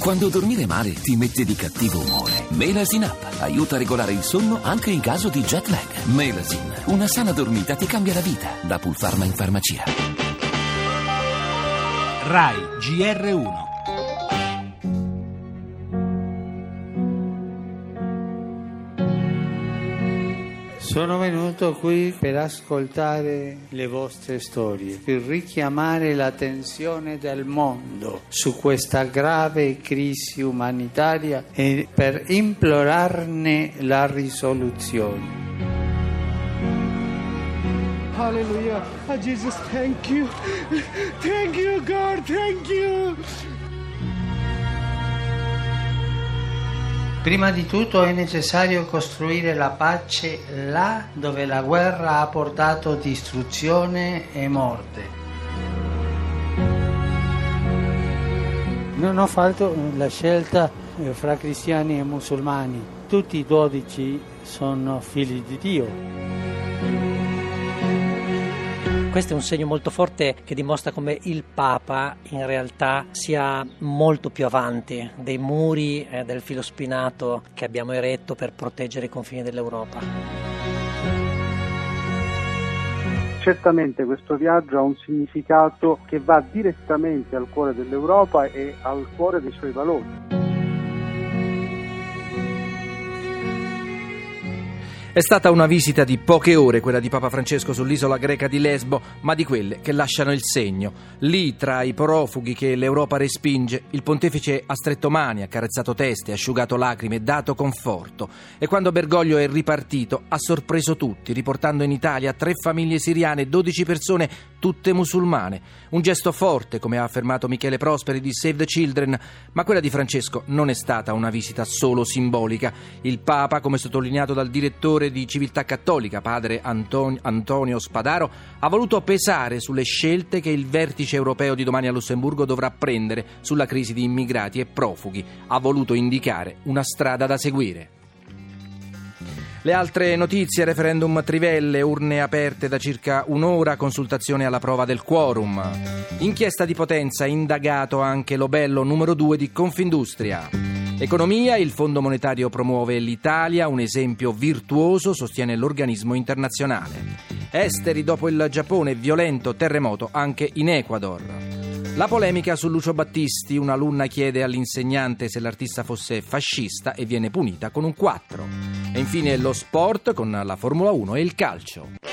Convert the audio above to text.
Quando dormire male ti mette di cattivo umore, Melasin Up aiuta a regolare il sonno anche in caso di jet lag. Melasin, una sana dormita ti cambia la vita. Da Pulpharma in farmacia. Rai GR1. Sono venuto qui per ascoltare le vostre storie, per richiamare l'attenzione del mondo su questa grave crisi umanitaria e per implorarne la risoluzione. Hallelujah. Oh, Jesus, thank you. Thank you, God, thank you. Prima di tutto è necessario costruire la pace là dove la guerra ha portato distruzione e morte. Non ho fatto la scelta fra cristiani e musulmani. Tutti i 12 sono figli di Dio. Questo è un segno molto forte che dimostra come il Papa in realtà sia molto più avanti dei muri del filo spinato che abbiamo eretto per proteggere i confini dell'Europa. Certamente questo viaggio ha un significato che va direttamente al cuore dell'Europa e al cuore dei suoi valori. È stata una visita di poche ore quella di Papa Francesco sull'isola greca di Lesbo, ma di quelle che lasciano il segno. Lì, tra i profughi che l'Europa respinge, il pontefice ha stretto mani, ha carezzato teste, ha asciugato lacrime, dato conforto. E quando Bergoglio è ripartito, ha sorpreso tutti, riportando in Italia 3 famiglie siriane, 12 persone, tutte musulmane. Un gesto forte, come ha affermato Michele Prosperi di Save the Children, ma quella di Francesco non è stata una visita solo simbolica. Il Papa, come sottolineato dal direttore di Civiltà Cattolica, padre Antonio Spadaro, ha voluto pesare sulle scelte che il vertice europeo di domani a Lussemburgo dovrà prendere sulla crisi di immigrati e profughi. Ha voluto indicare una strada da seguire. Le altre notizie: referendum trivelle, urne aperte da circa un'ora, consultazione alla prova del quorum. Inchiesta di Potenza, indagato anche l'obello numero 2 di Confindustria. Economia, il Fondo Monetario promuove l'Italia, un esempio virtuoso, sostiene l'organismo internazionale. Esteri, dopo il Giappone, violento terremoto anche in Ecuador. La polemica su Lucio Battisti, un'alunna chiede all'insegnante se l'artista fosse fascista e viene punita con un 4. E infine lo sport con la Formula 1 e il calcio.